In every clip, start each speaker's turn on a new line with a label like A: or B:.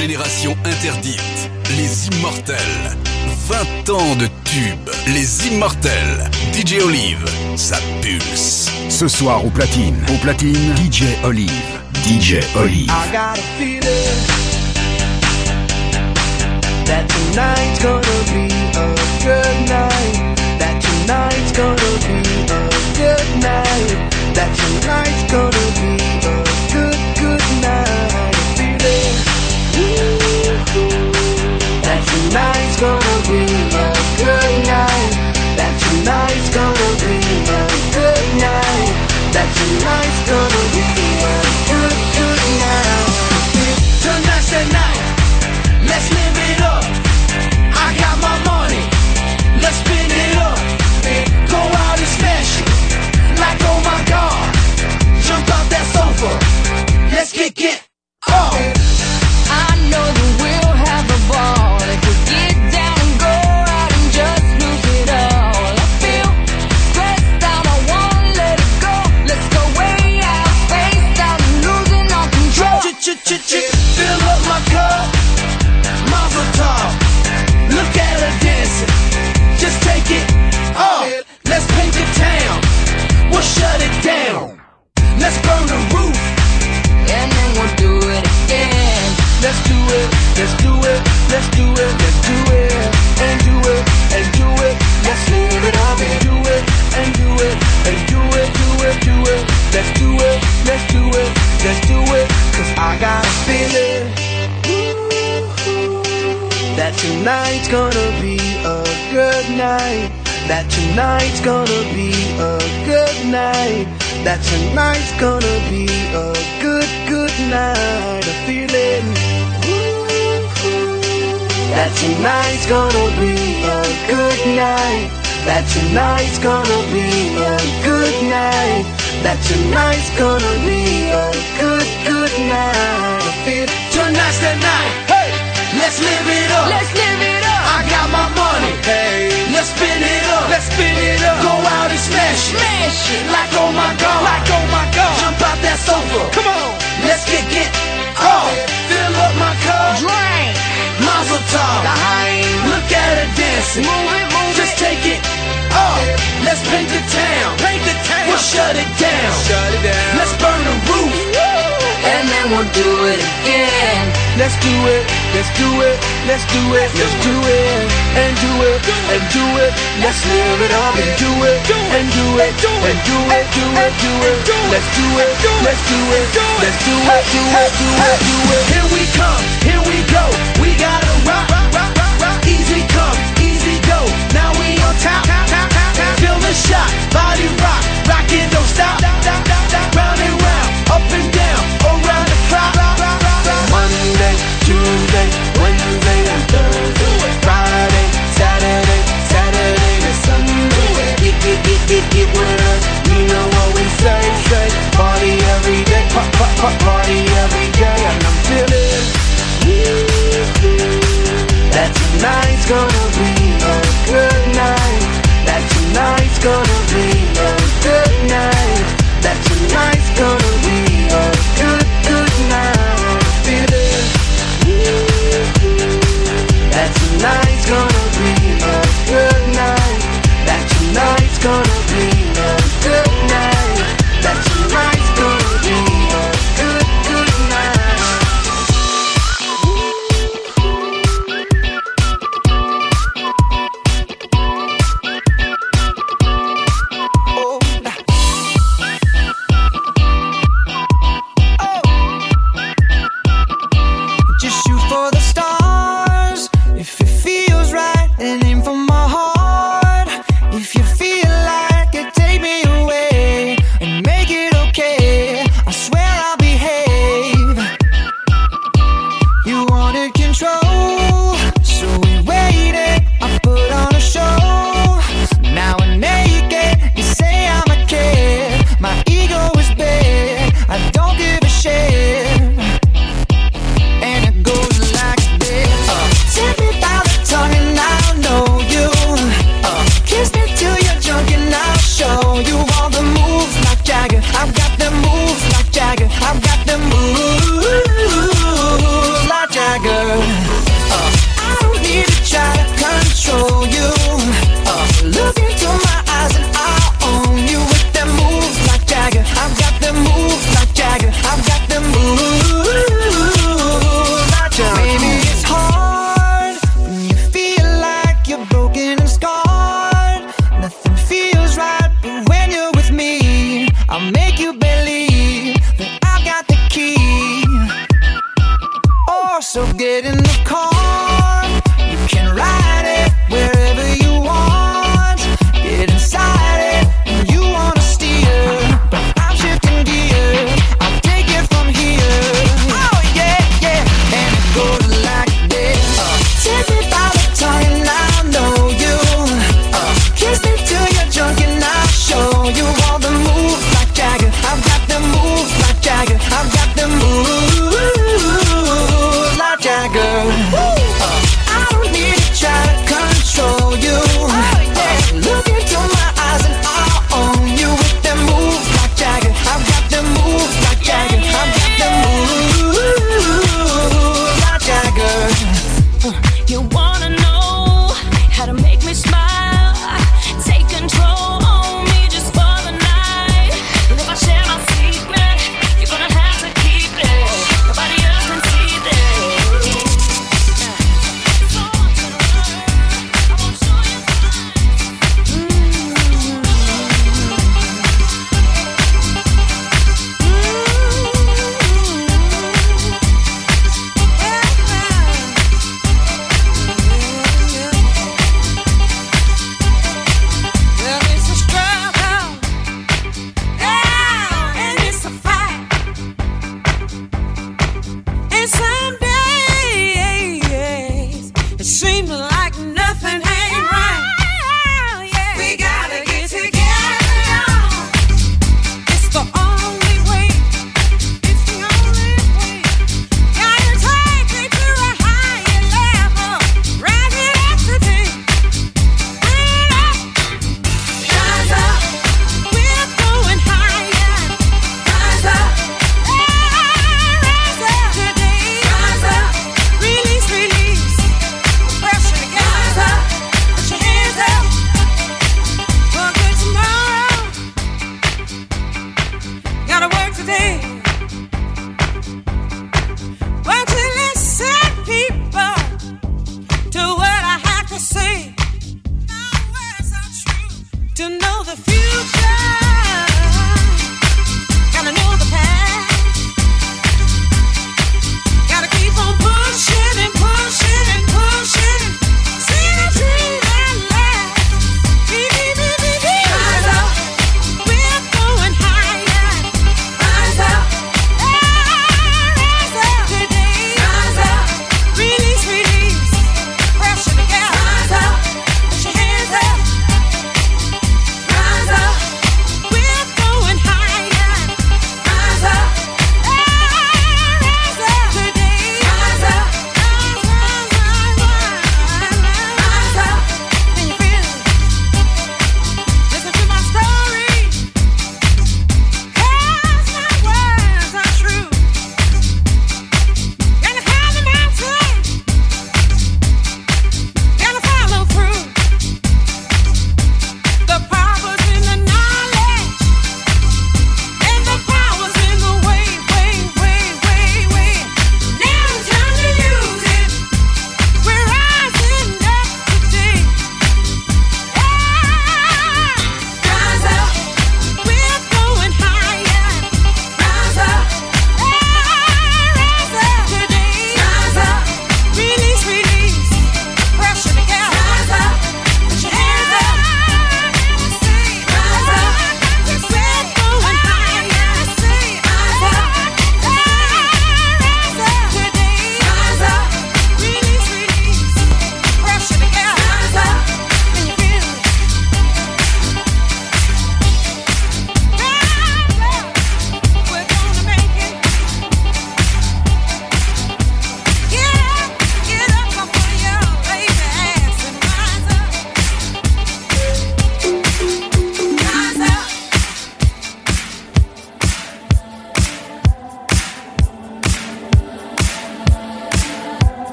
A: génération interdite, les immortels. 20 ans de tubes, les immortels. DJ Olive, ça pulse.
B: Ce soir au platine, DJ Olive. DJ Olive.
C: I got a feeling that tonight's gonna be a good night. That tonight's gonna be a good night. That tonight's gonna be a good night. Feeling that tonight's gonna be a good night. That tonight's gonna be a good night. That tonight's gonna be a good night. Tonight's the night. Let's live it up. I got my money. Let's spend it up. Go out and smash it. Like oh my God. Jump off that sofa. Let's get up.
D: I know that we'll have a ball if we get down and go out and just lose it all. I feel stressed out, I wanna let it go. Let's go way out, spaced out and losing all control.
C: Fill up my cup, Mazel tov. Look at her dancing, just take it off. Let's paint the town, we'll shut it down. Let's burn the roof,
D: And then we'll do it again.
C: let's do it, let's do it, let's do it, let's do it, and do it, and do it. Let's live it up and do it, and do it, and do it, do it, do it. Let's do it, let's do it, let's do it. Cause I got a feeling that tonight's gonna be a good night. That tonight's gonna be a good night. That tonight's gonna be a good night. A feeling that tonight's gonna be a good night. That tonight's gonna be a good night. That tonight's gonna be a good night. I feel tonight's the night. Hey, let's live it up.
D: Let's live it up.
C: I got my money. Hey, let's spin it up. Let's spin it up. Go out and smash it.
D: Smash it.
C: Like oh my God. Like oh my God. Jump out that sofa. Come on. Let's get off. Fill up my cup.
D: Drink.
C: Mazel tov. Look at her dancing.
D: Move it.
C: Just take it off. Let's paint the town. We'll shut it down. Let's burn the roof.
D: And then we'll do it again.
C: Let's do it. Let's do it. Let's do it. Let's do it. And do it. And do it. Let's live it up and do it. And do it. And do it. Do it. Do it. Let's do it. Let's do it. Let's do it. Do it. Do it. Do it. Here we come. Here we go. We gotta rock. Easy come. Easy go. Now we on top. Feel the shot. Body rock. Rockin', don't stop. Round and round. Up and down. Around the clock. Monday, Tuesday, Wednesday, and Thursday. Friday, Saturday, Saturday to Sunday. Get with us. You know what we say. Party every day. Party every day. And I'm feeling that tonight's gonna be a good night. That tonight's gonna be a good night. That tonight's gonna be a good night. Feeling that tonight's gonna be a good night. That tonight's gonna be a good night. That tonight's gonna be a good night.
E: So get in the car, you can ride it wherever you want. Get inside it when you wanna steer, but I'm shifting gears, I'll take it from here. Oh yeah, yeah, and it goes like this. Take me by the tongue and I know you. Kiss me till you're drunk and I'll show you all the moves like Jagger. I've got the moves like Jagger. I've got the moves like Jagger.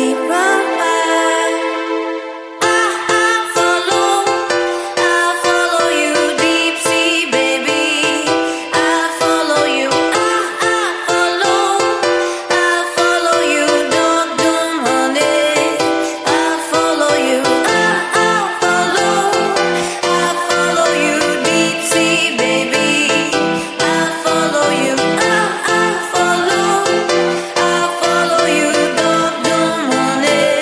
F: I follow you, don't money.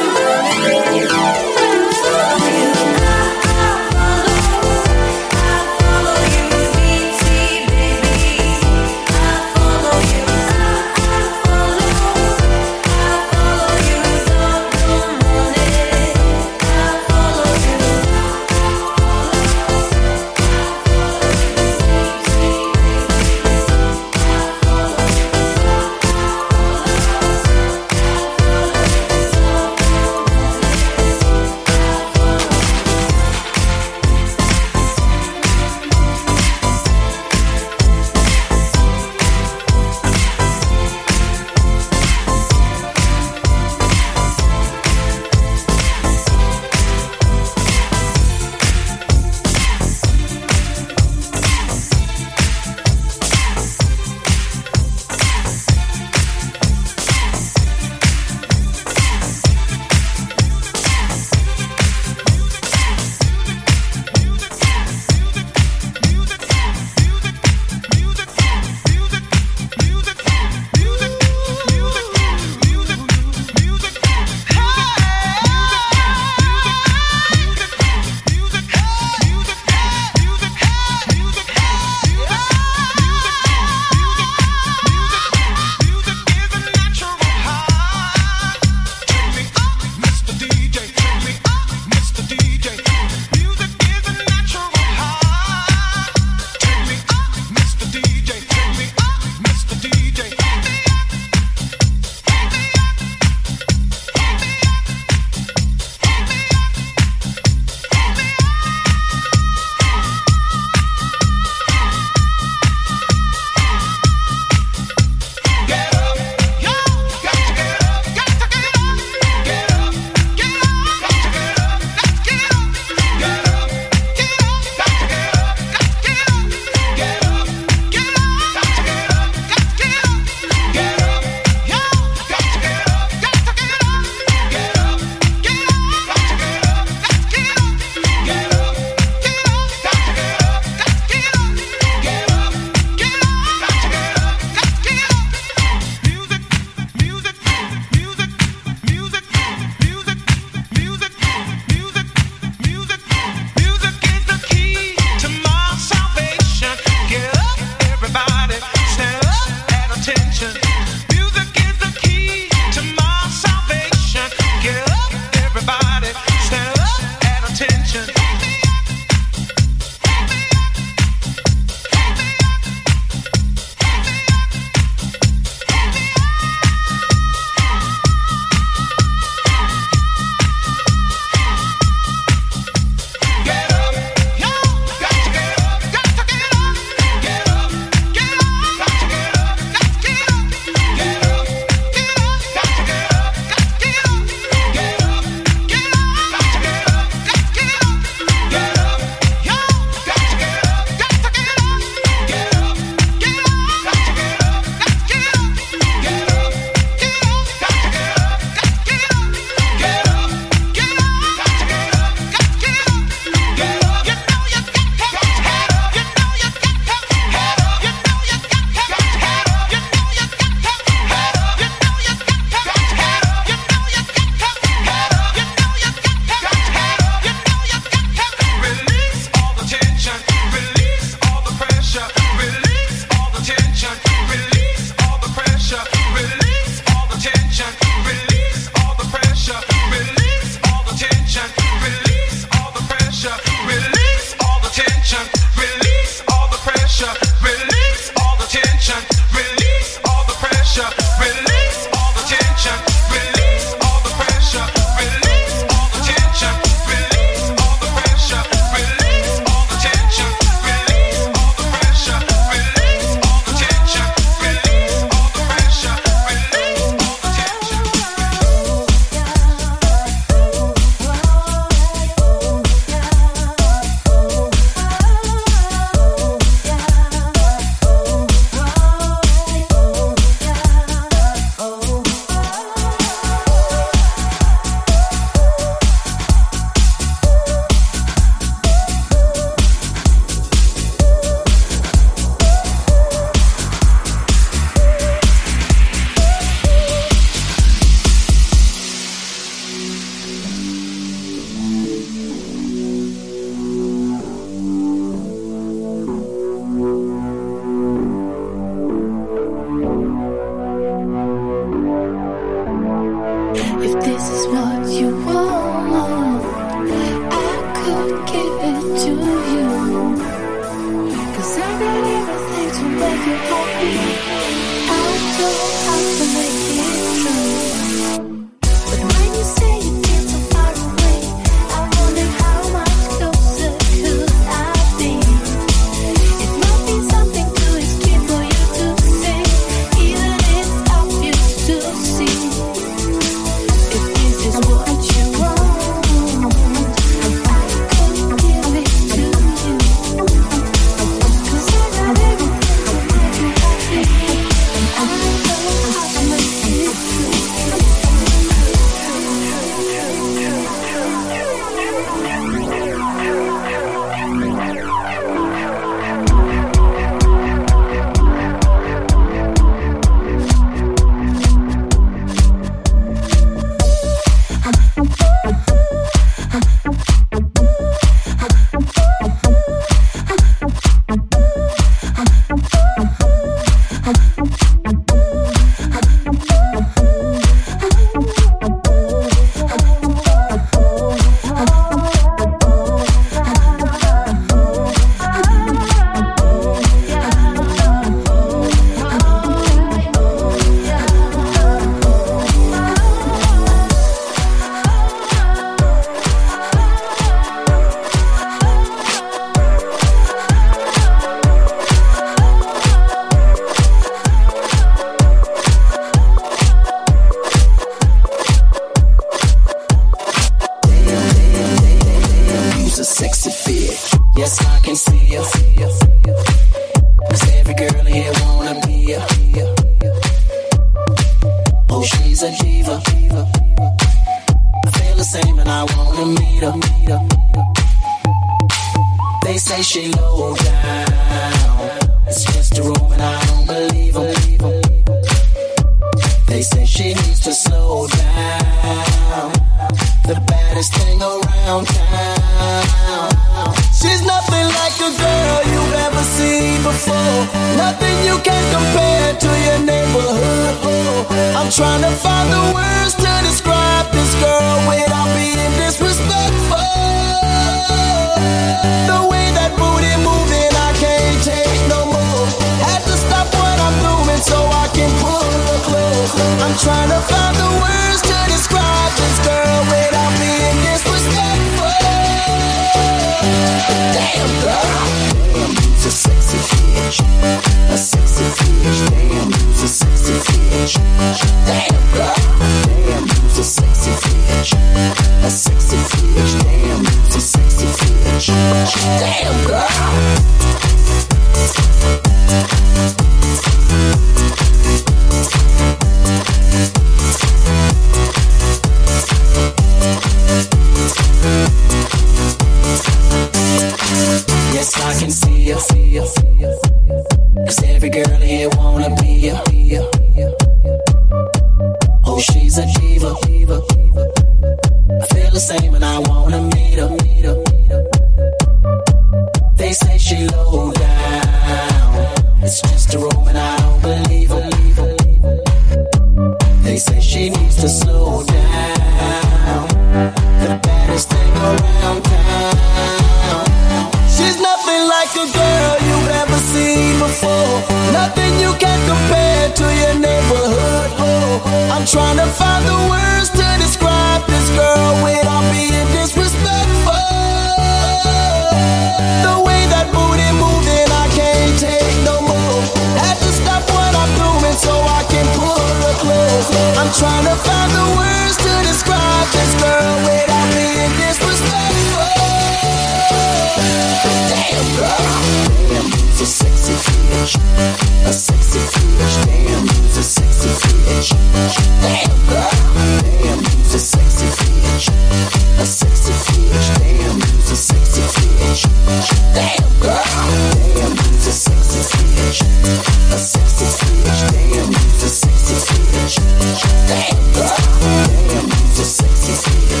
F: Damn, you's a sexy bitch.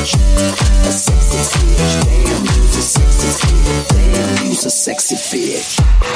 B: sexy bitch.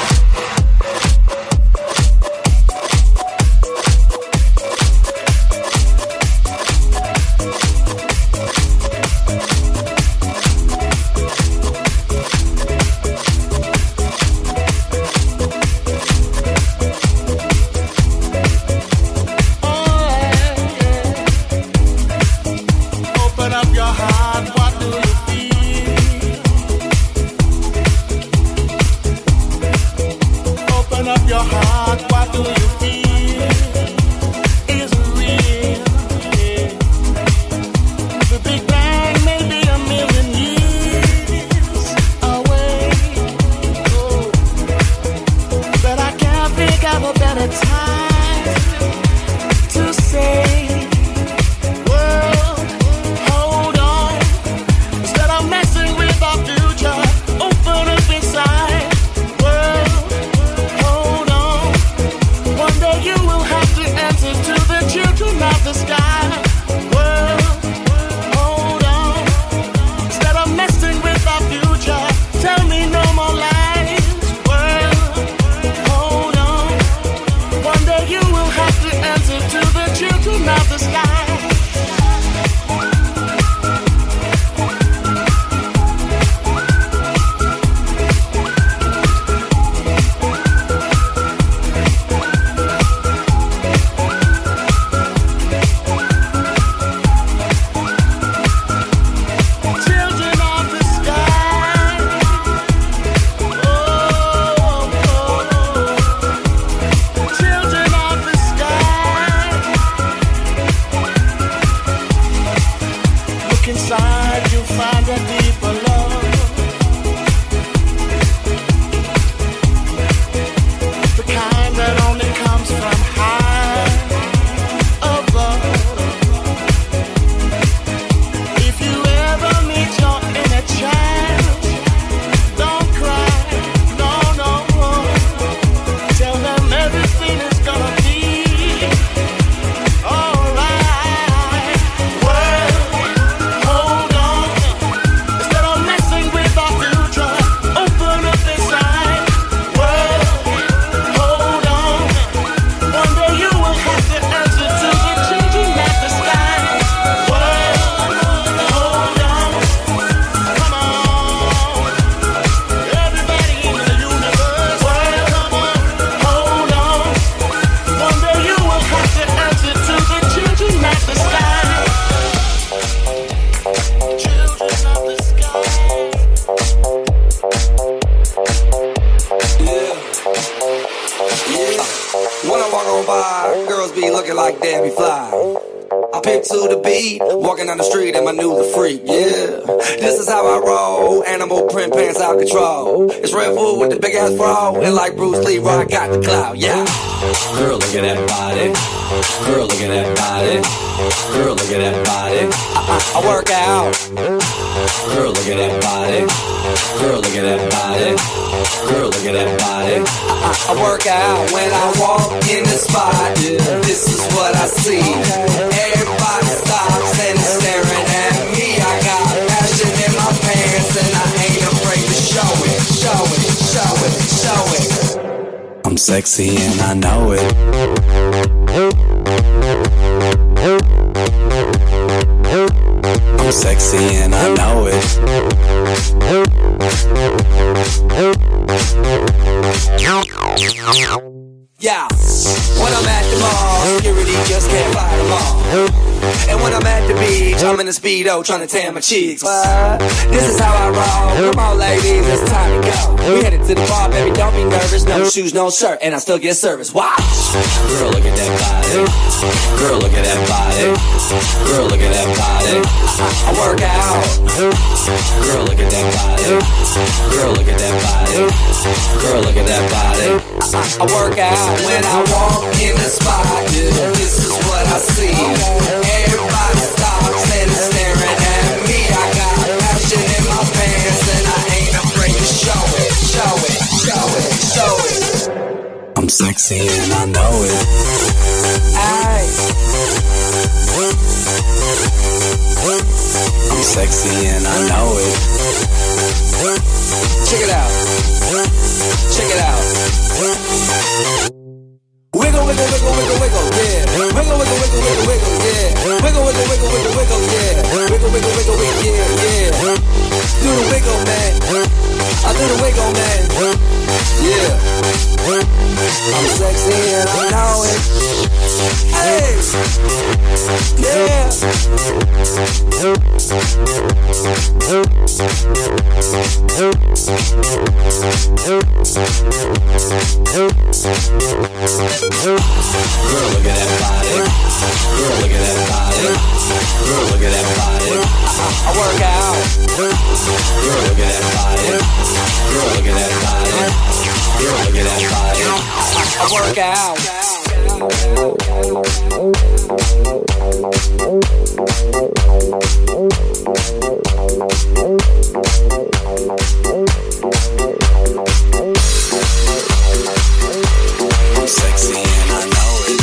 F: Walking down the street and I knew the freak, yeah. This is how I roll, animal print pants out control. It's Red Bull with the big ass bra, and like Bruce Lee, I got the clout, yeah. Girl, look at that body. Girl, look at that body. Girl, look at that body. I work out. Girl, look at that body. Girl, look at that body. Girl, look at that body. I work out when I walk in the spot. This is what I see. Everybody stops and is staring at me. I got passion in my pants and I ain't afraid to show it, show it, show it, show it. I'm sexy and I know it. I'm sexy and I know it. Yeah, when I'm at the mall, security just can't fight them all. And when I'm at the beach, I'm in a Speedo trying to tan my cheeks. This is how I roll. Come on, ladies, it's time to go. We headed to the bar, baby, don't be nervous. No shoes, no shirt, and I still get service. Watch. Girl, look at that body. Girl, look at that body. Girl, look at that body. I work out. Girl, look at that body. Girl, look at that body. Girl, look at that body. I work out when I walk in the spot. This is what I see. Everybody stops and is staring at me. I got passion in my pants and I ain't afraid to show it, show it, show it, show it. I'm sexy and I know it. Aye. I'm sexy and I know it. Check it out. Check it out. Wiggle, wiggle, wiggle, wiggle, wiggle, yeah. Wiggle, wiggle, wiggle, wiggle, wiggle, yeah. Wiggle, wiggle, wiggle, wiggle, wiggle, yeah. Wiggle, wiggle, wiggle, wiggle, yeah, yeah. Do the wiggle, man. I do the wiggle, man. Yeah. I'm sexy and I know it. Hey. Yeah. Girl, look at that body. Girl, look at that body. Girl, look at that body. I work out. Girl, look at that body. Girl, look at that body. Girl, look at that body. I work out. I'm sexy and I know it.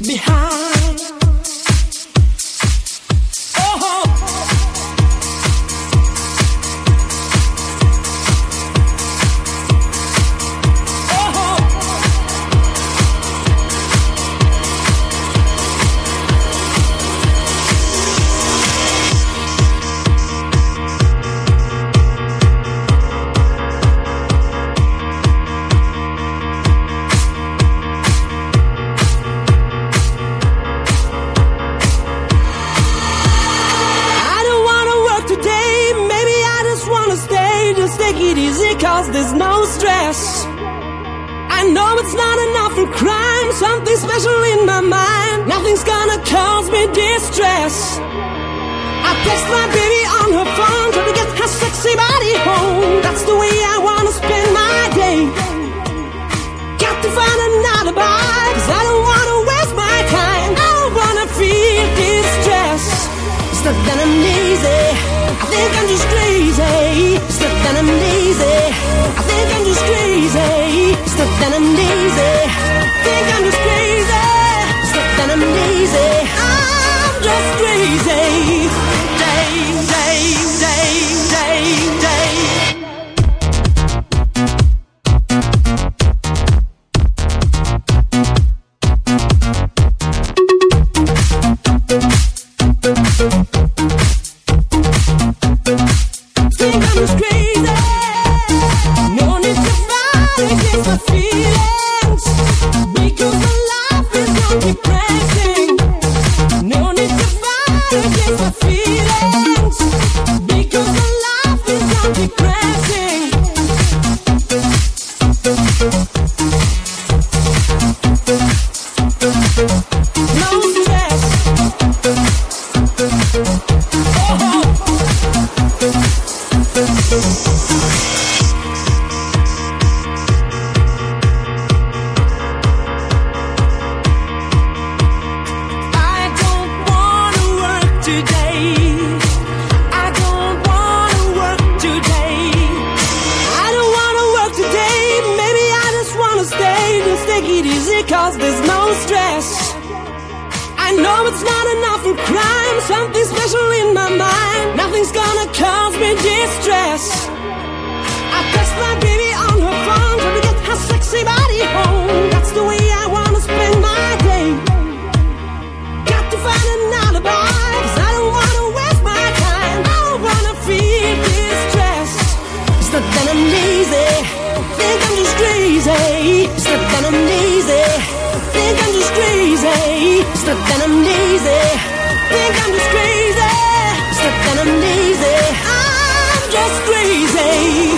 G: behind. Oh. Cause there's no stress. I know it's not enough for crime. Something special in my mind. Nothing's gonna cause me distress. I text my baby on her phone, trying to get her sexy body home. That's the way I wanna spend my day. Got to find an alibi, cause I don't wanna waste my time. I don't wanna feel distress. It's not that I'm lazy, I think I'm just crazy. It's not that I'm lazy, I think I'm just crazy. It's not that I'm lazy, I think I'm just crazy. It's not that I'm lazy, I'm just crazy. Day, day, day, day, day. Think I'm just crazy. No need to fight against my feelings, because my life is not depressing. No need to fight against my feelings, because my life is not depressing. No stress. Oh. I don't wanna work today. I don't wanna work today. I don't wanna work today. Maybe I just wanna stay. Just take it easy, cause there's no stress. I know it's not enough for crime. Something special in my mind. Nothing's gonna cause me distress. I text my baby on her phone, trying to get her sexy body home. That's the way I wanna spend my day. Got to find an alibi, cause I don't wanna waste my time. I don't wanna feel distress. It's not that I'm lazy, think I'm just crazy. It's not that I'm lazy, think I'm just crazy. It's not that I'm lazy, think I'm just crazy. It's not that I'm lazy, I'm just crazy.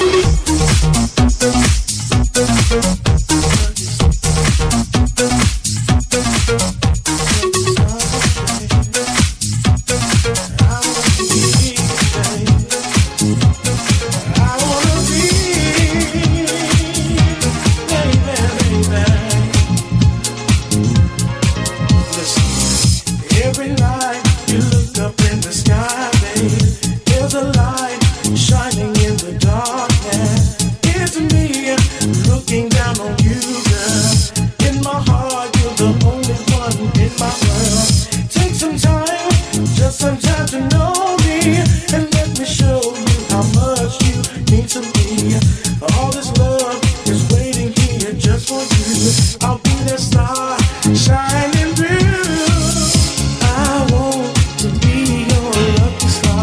H: Every night you look up in the sky, babe, there's a light shining in the darkness. It's me looking down on you, girl. In my heart, you're the only one in my world. Take some time, just some time to know me, and let me show you how much you mean to me. All this love is waiting here just for you. I'll be that star shining through. I want to be your lucky star.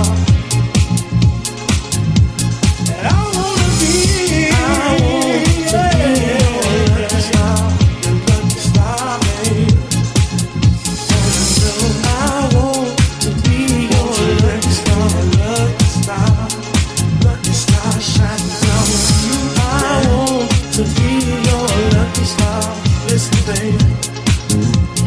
H: I want to be your lucky star, babe. I want to be your lucky star shining down on you. I want to be your lucky star. Listen, babe.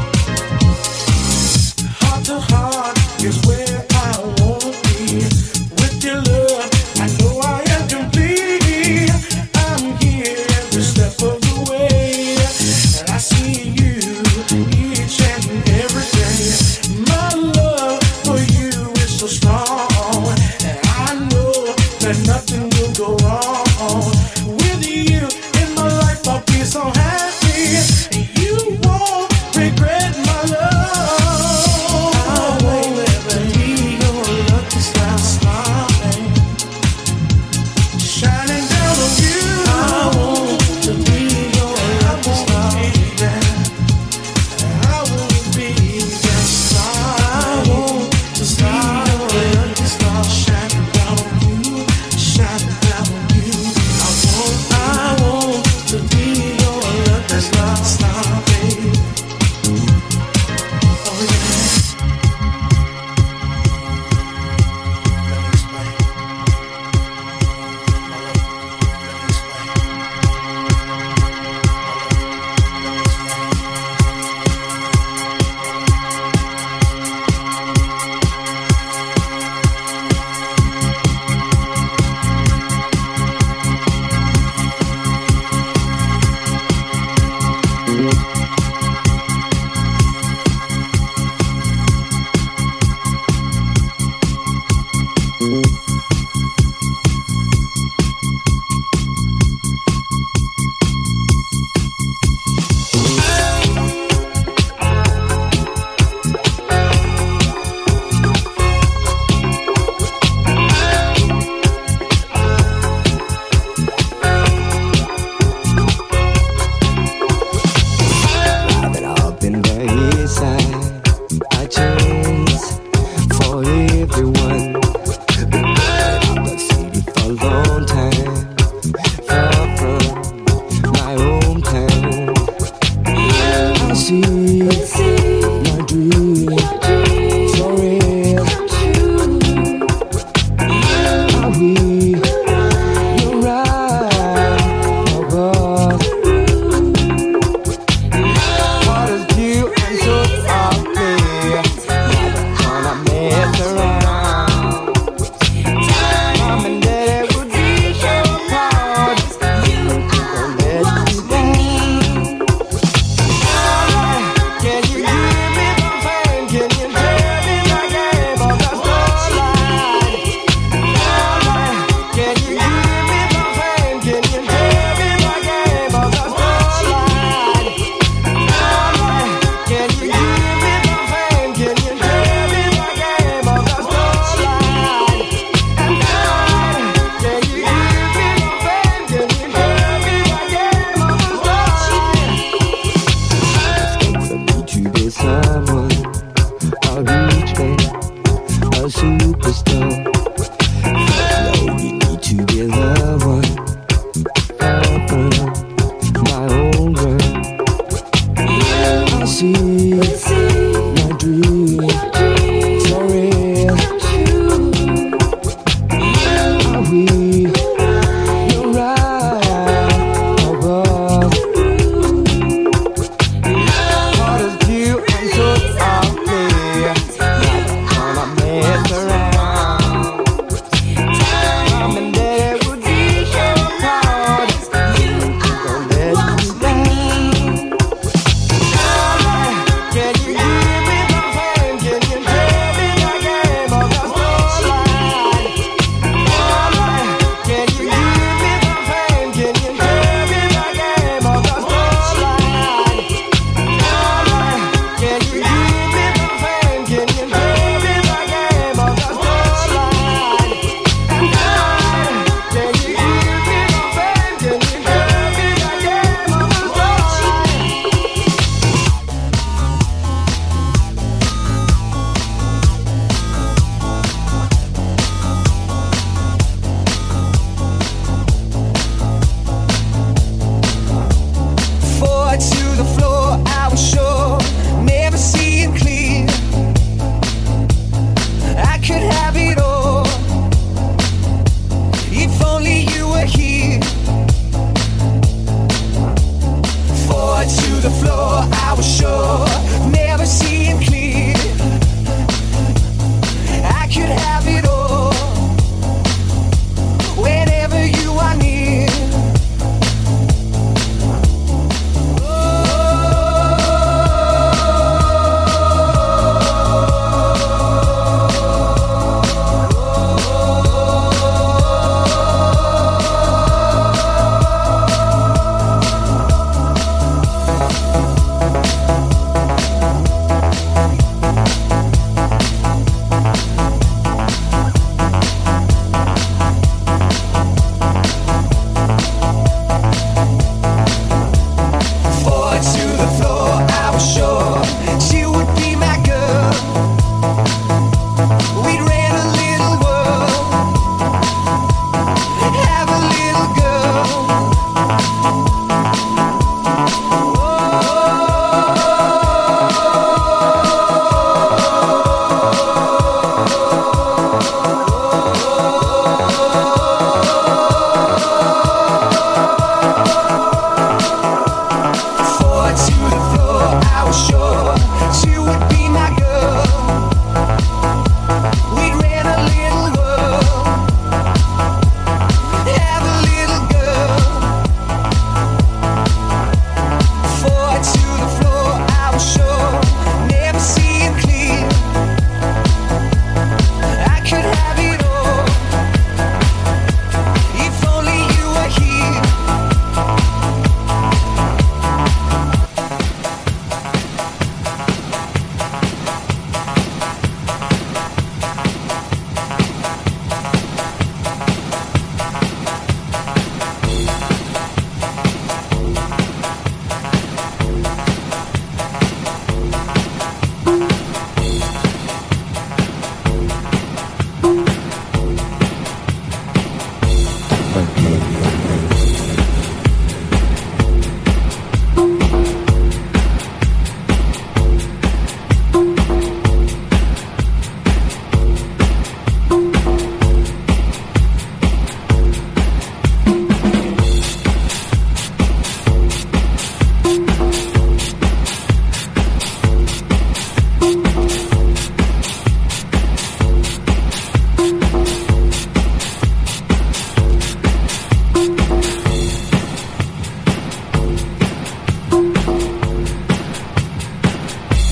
E: Can you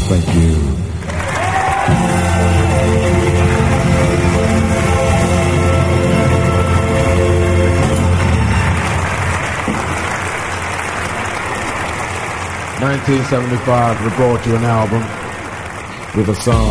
I: Thank you. "1975, we brought you an album with a song.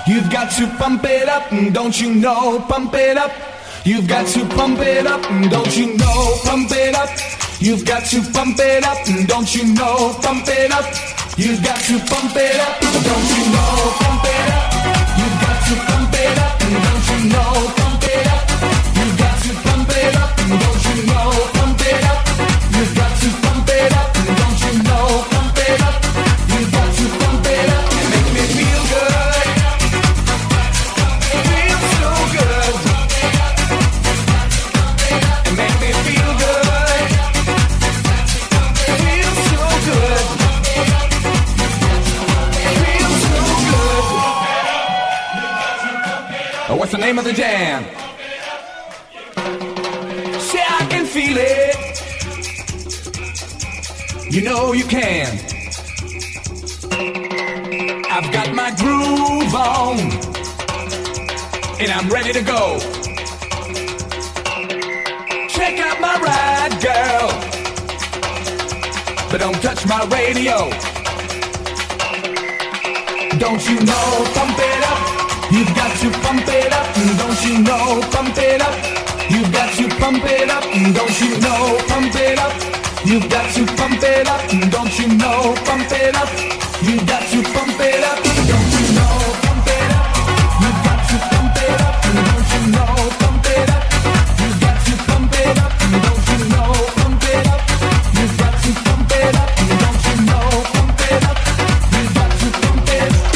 J: You've got to pump it up, don't you know? Pump it up. You've got to pump it up, don't you know? Pump it up. You've got to pump it up, don't you know? Pump it up. You've got to pump it up, don't you know? Pump it up. You've got to pump it up, don't you know? Pump it up. You've got to pump it up, don't you know? Pump it up. You've got to pump it up, don't you know? Pump it up. You've got to pump it up and make me feel good. Feel so good. And make me feel good. Feel so good. Feel so good. Oh, what's the name of the jam? Say I can feel it. You know you can. I've got my groove on, and I'm ready to go. Check out my ride, girl, but don't touch my radio. Don't you know, pump it up. You've got to pump it up. Don't you know, pump it up. You've got to pump it up. Don't you know, pump it up. You've got to pump it up, don't you know, pump it up. You've got to pump it up, don't you know, pump it up. You've got to pump it up, don't you know, pump it up. You've got to pump it up, don't you know, pump it up. You've got to pump it up, don't you know, pump it up. You've got to pump it up.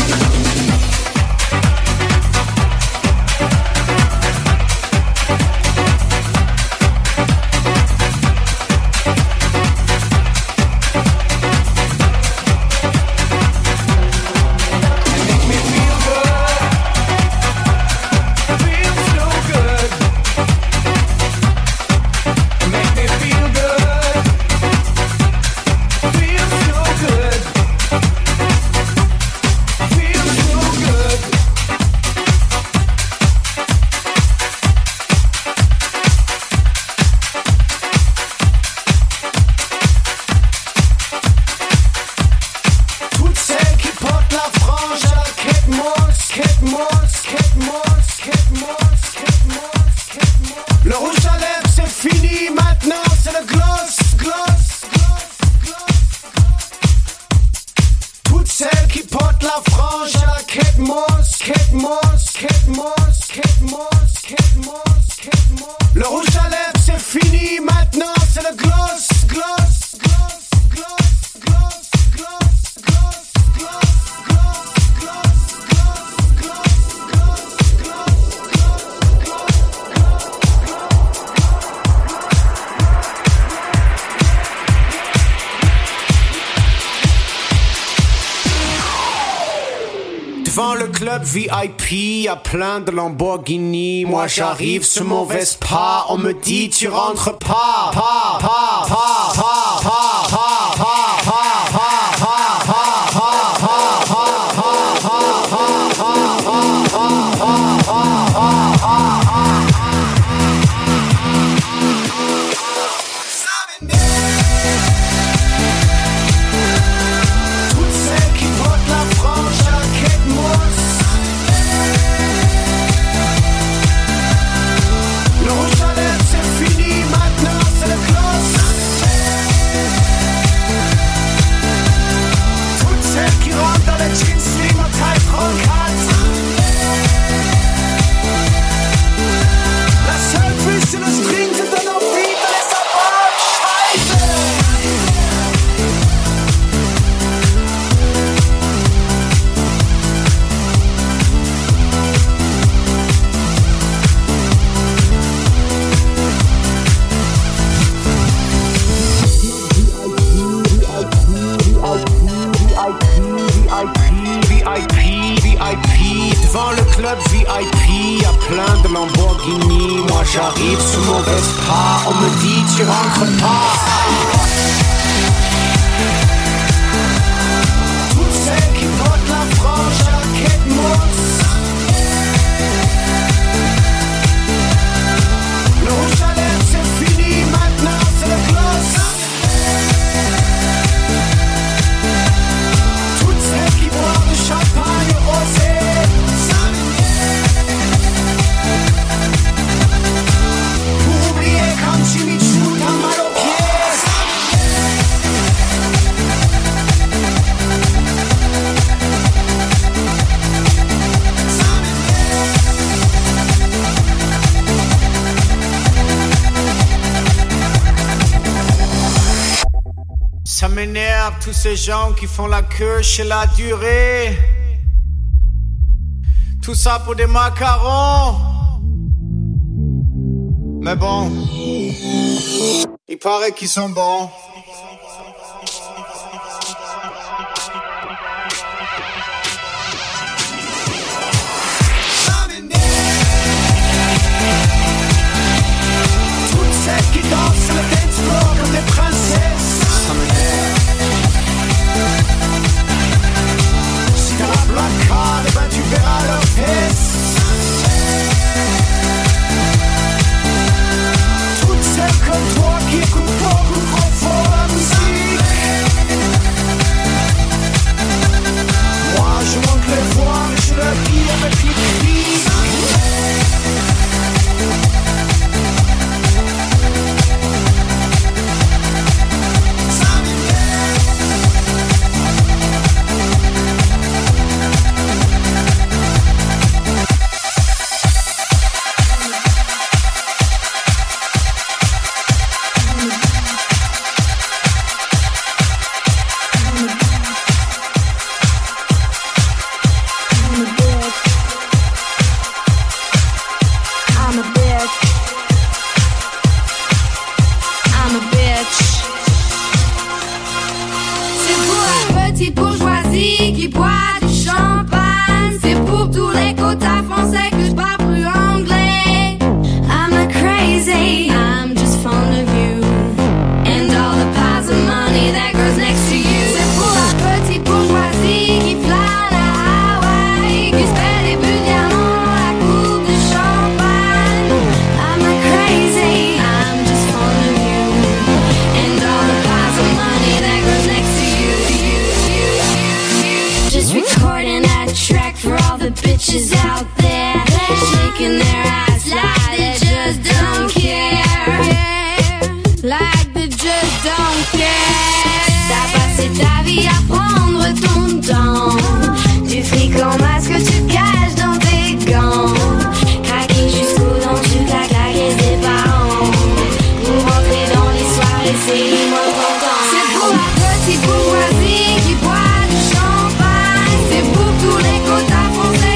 K: Devant le club VIP, y'a plein de Lamborghini. Moi j'arrive sur mon Vespa, on me dit tu rentres pas. Devant le club VIP, y'a plein de Lamborghini. Moi j'arrive sur mon Vespa, on me dit tu rentres pas. Toutes celles qui portent la frange jaquette mousse. Le rouge à lèvres c'est fini, maintenant c'est le gloss. Toutes celles qui boivent du champagne rosé. Ça m'énerve tous ces gens qui font la queue chez la durée. Tout ça pour des macarons. Mais bon, il paraît qu'ils sont bons.
C: Toutes celles qui dansent sur le dance floor comme des princesses. Ça m'énerve. Si t'as la black card, eh ben tu verras leurs fesses. Toutes celles comme toi qui écoutent beaucoup trop fort la musique. Moi je monte les voix mais je leur dis avec le cri.
D: Bitches out there shaking their ass like they just don't care, like they just don't care. T'as passé ta vie à prendre ton temps, du fric en masque tu caches dans tes gants, craquer jusqu'aux dents tu t'as claqué tes parents pour rentrer dans les soirées, c'est moins content. C'est pour la petite bourgeoisie qui boit du champagne, c'est pour tous les quotas français.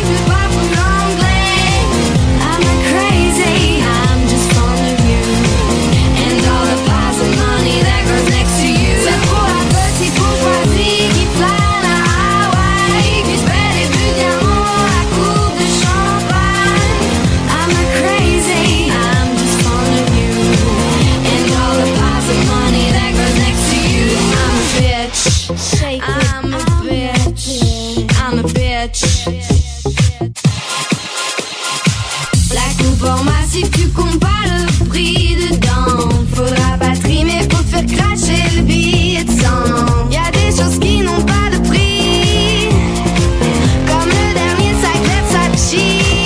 D: La coupe en massif, tu comptes pas le prix dedans. Faudra pas trimer pour te faire cracher le billet de 100. Y'a des choses qui n'ont pas de prix, comme le dernier sac Versace.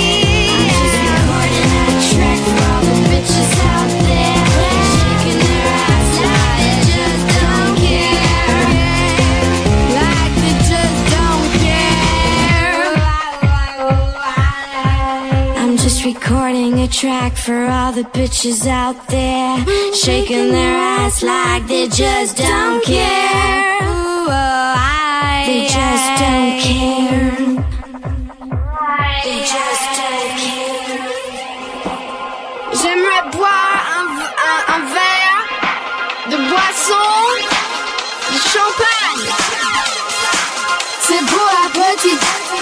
D: Recording a track for all the bitches out there, shaking their ass like they just don't care. Ooh, they just don't care. They just don't care. J'aimerais boire un verre de boisson, de champagne. C'est pour la petite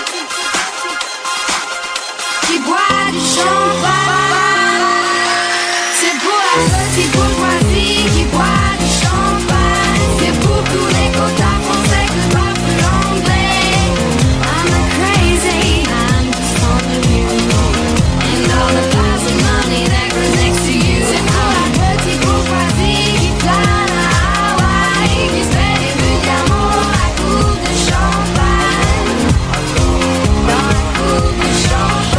D: qui boit du champagne. C'est pour la petite bourgeoisie qui boit du champagne. C'est pour tous les quotas français que je parle plus l'anglais. I'm not crazy, I'm just fond of you and all the piles of money that goes next to you. C'est pour la petite bourgeoisie qui plane à Hawaï, qui se fait des buts d'amour à coups de champagne. Dans la coupe de champagne.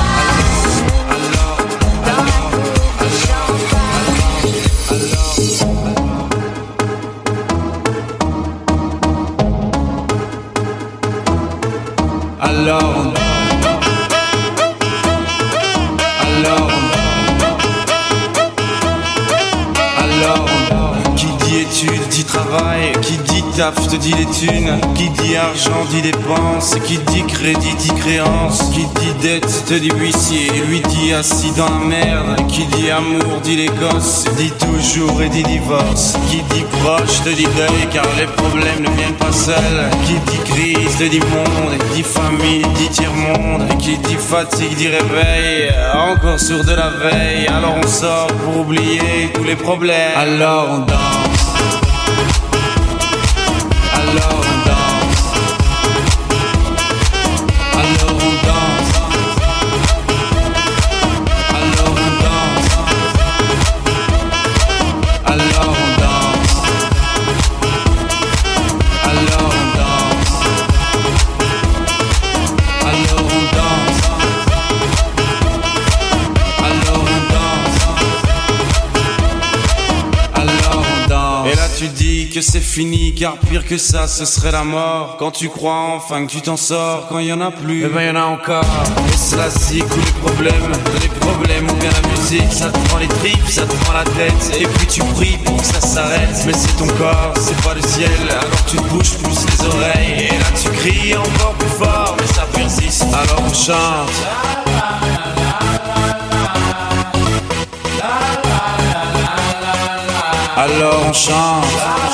L: Alors, qui dit études dit travail, qui dit taf te dit les thunes, qui dit argent dit dépenses, qui dit crédit dit créance, qui dit dette te dit huissier, lui dit assis dans la merde, qui dit amour dit les gosses, dit toujours et dit divorce, qui dit proche te dit deuil car les problèmes ne viennent pas seuls, qui dit crise te dit monde, dit famille dit tiers-monde, qui dit fatigue dit réveil, encore sourd de la veille, alors on sort pour oublier tous les problèmes, alors on danse, alors on danse, alors on danse, alors on danse, alors on danse, alors on danse, alors on danse, alors on danse, alors on danse. Et là tu dis que c'est fini car pire que ça ce serait la mort. Quand tu crois enfin que tu t'en sors, quand il y en a plus, eh ben y en a encore. Et cela c'est où les problèmes ou bien la musique, ça te prend les tripes, ça te prend la tête. Et puis tu pries pour que ça s'arrête, mais c'est ton corps, c'est pas le ciel. Alors tu te bouges plus les oreilles, et là tu cries encore plus fort, mais ça persiste. Alors on chante. Alors on chante.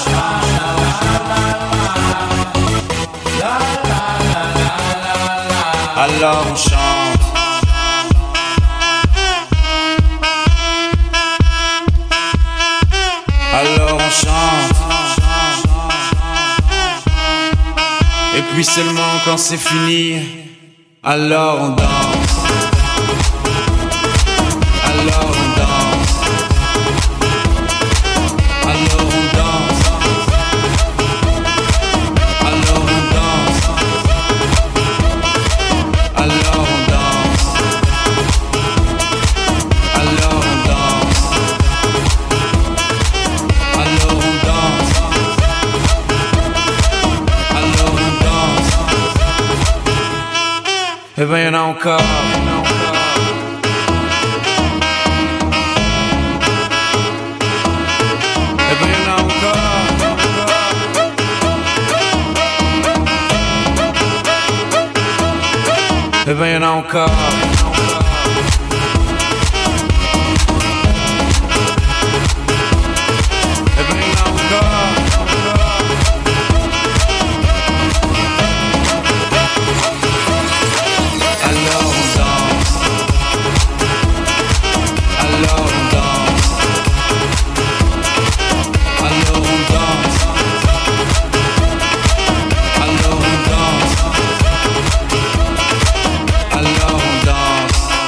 L: Alors on chante. Alors on chante. Et puis seulement quand c'est fini, alors on danse. Alors on danse. Alors on danse. Alors on danse. Alors on danse. Alors on danse. Alors on danse. Alors on danse. Eh ben y'en a encore. Eh ben y'en a encore. Eh ben y'en a encore. Alors on danse. Alors on danse. Alors on danse. Alors on danse. Alors on danse.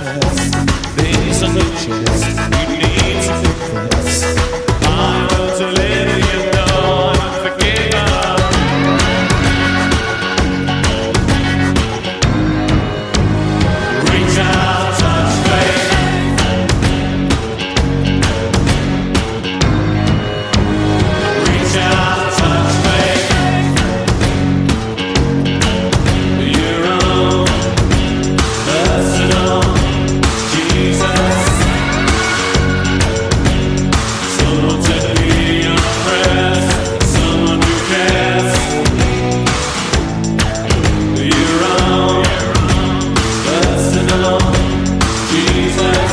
M: These are new chairs. You need to confess. I want to live, you know I'm forgiven. Reach out, touch faith. Reach out, touch faith. Your own personal Jesus. Someone to hear your prayers, someone who cares. Your own personal Jesus.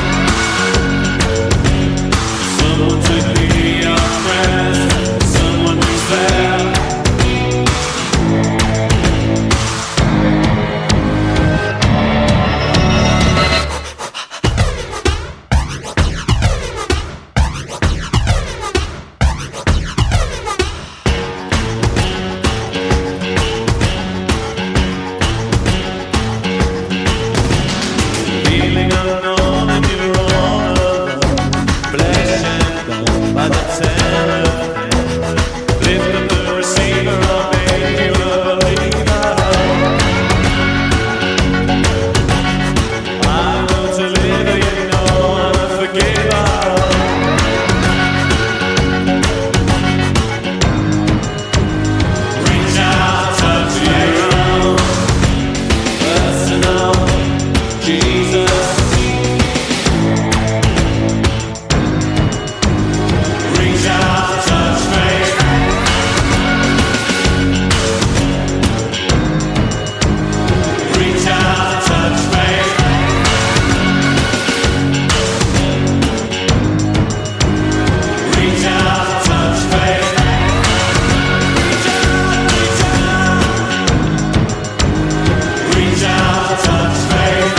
M: Someone to hear your prayers, someone who's there. Feeling unknown and you're all alone. Flesh and bone by the telephone. Lift up the receiver, I'll make you a believer. I want to live, you know I'm a forgiver. Reach out, touch your own personal Jesus. Reach out, touch faith. Reach out, touch faith. Reach out, touch faith. Reach out, touch faith.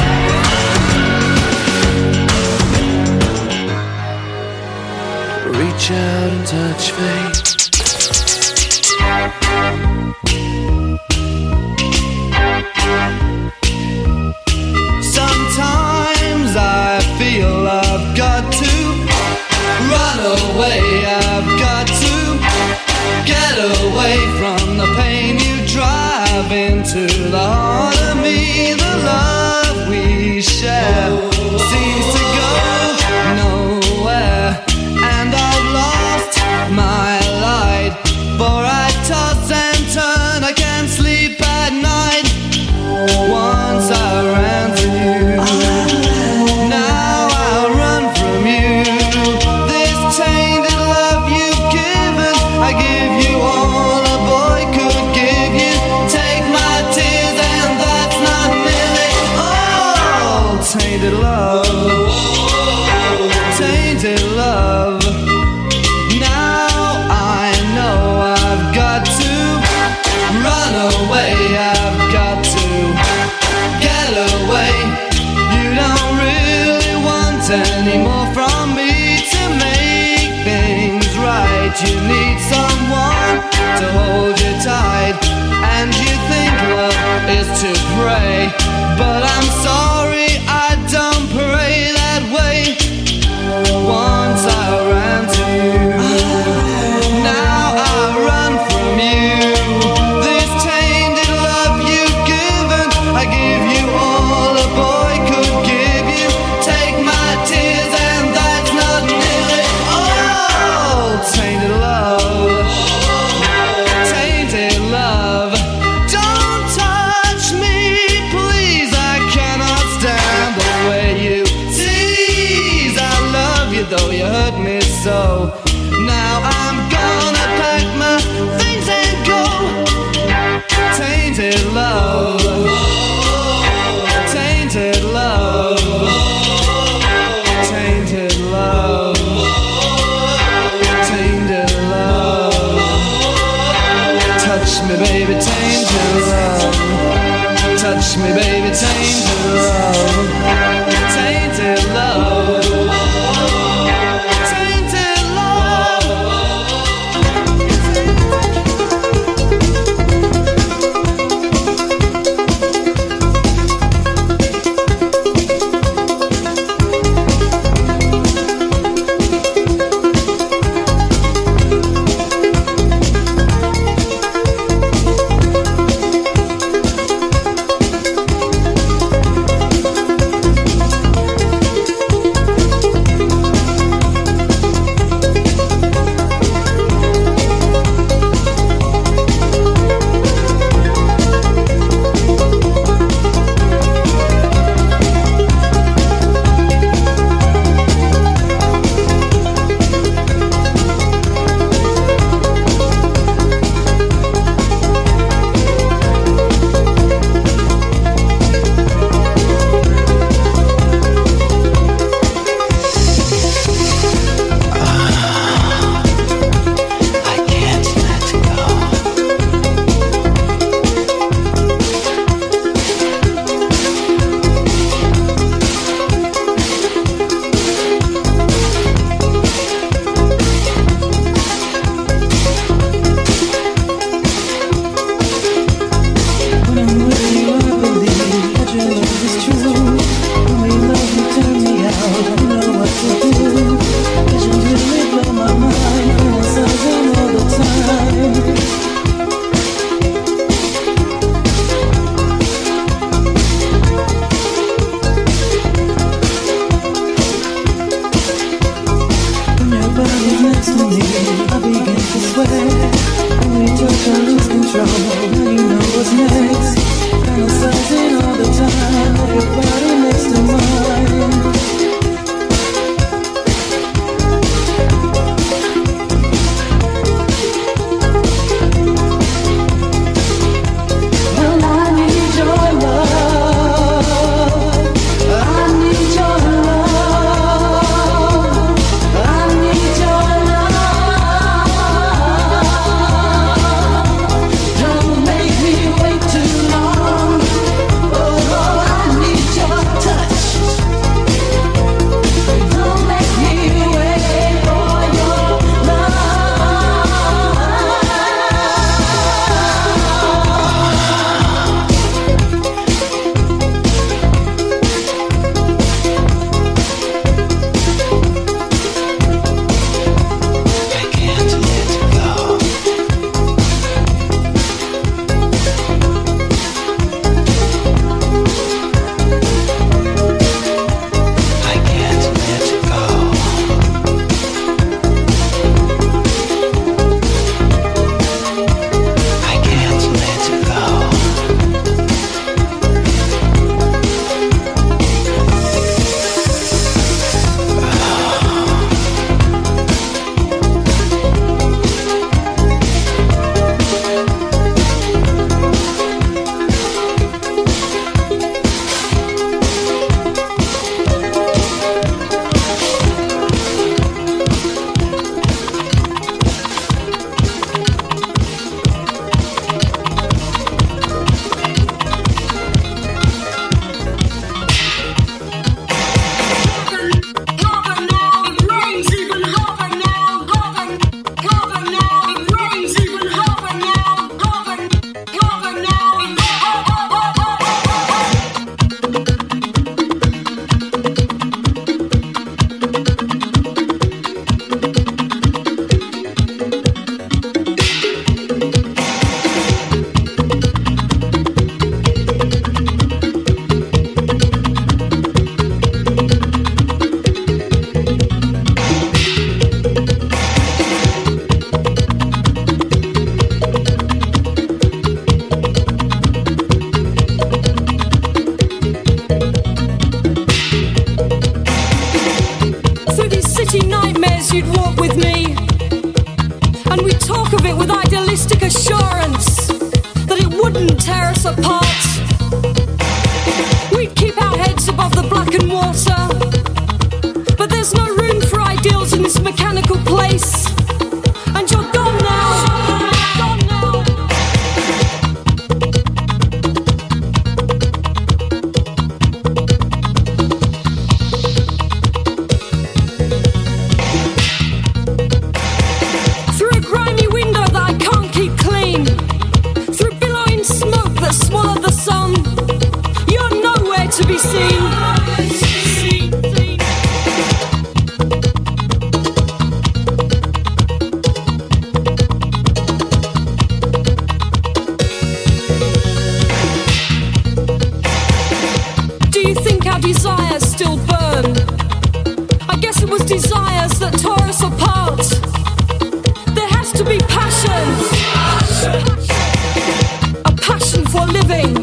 C: Reach out and touch faith.
E: Sometimes I feel I've got to run away. I've got to get away from the pain you drive into the heart of me. The love we share seems to go nowhere, and I've lost my light. For I toss and turn, I can't sleep at night. Once I ran to you, now I run from you. This tainted love you've given, I give you all a boy could give you. Take my tears and that's not nearly all. Tainted love, tainted love. Now I know I've got to run away. I've got to get away. You don't really want any more from me to make things right. You need someone to hold you tight, and you think love is to pray. But I'm sorry, I don't pray that way. Once I ran to you, now I run from you. This tainted love you've given, I give you all a boy could give you. Take my tears and that's not nearly all. Tainted love, tainted love. Don't touch me, please, I cannot
G: nightmares you'd walk with me, and we'd talk of it with idealistic assurance that it wouldn't tear us apart. We'd keep our heads above the blackened water, but there's no room for ideals in this mechanical place, and you're gone now. To be seen. Do you think our desires still burn? I guess it was desires that tore us apart. There has to be passion. A passion for living.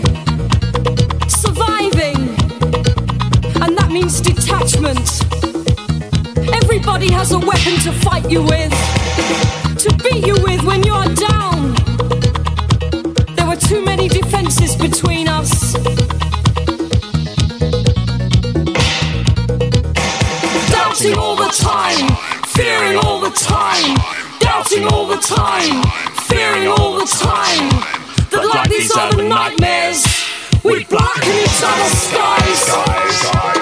G: Means detachment. Everybody has a weapon to fight you with, to beat you with when you're down. There were too many defenses between us. Doubting all the time, fearing all the time, doubting all the time, fearing all the time. That like these other nightmares, we blacken each other's skies.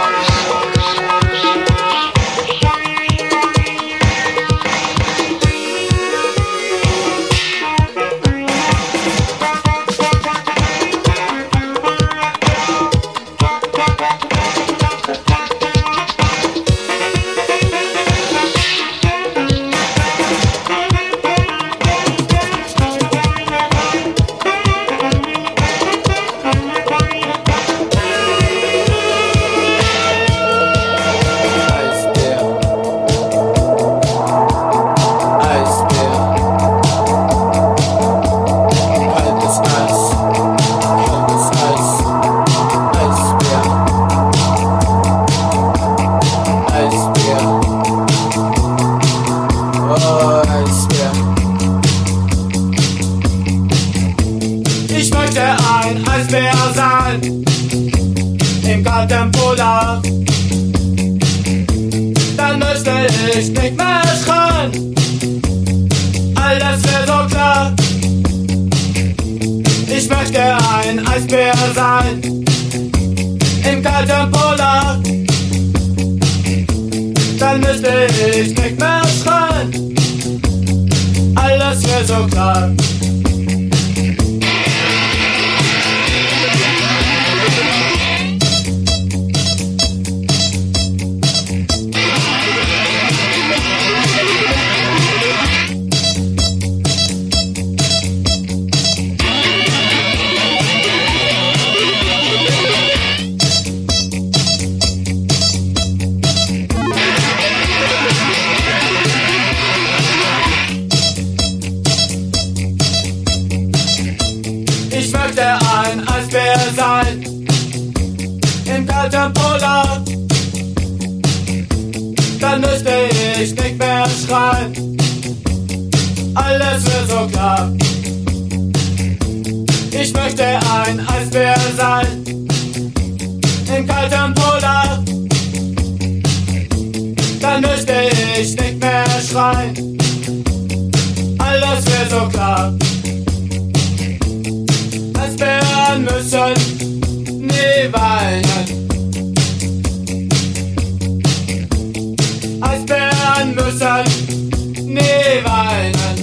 J: Dann müsste ich nicht mehr schreien, alles wäre so klar. Ich möchte ein Eisbär sein, im kalten Polar. Dann müsste ich nicht mehr schreien, alles wäre so klar. Ich möchte ein Eisbär sein, im kalten Polar. Dann müsste ich nicht mehr schreien, alles wird so klar. Ich möchte ein Eisbär sein, im kalten Polar. Dann müsste ich nicht mehr schreien, alles wird so klar. Eisbären müssen nie weinen. Eisbären müssen nie weinen.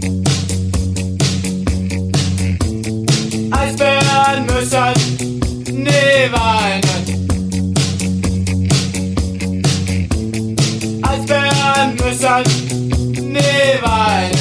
J: Eisbären müssen nie weinen. Eisbären müssen nie weinen.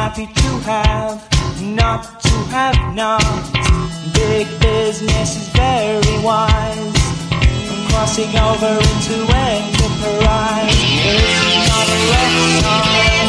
E: happy to have, not to have not. Big business is very wise. I'm crossing over into enterprise. This is not a rock song.